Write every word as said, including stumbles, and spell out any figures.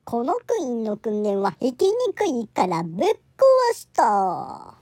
このクイーンの訓練は生きにくいからぶっ壊した。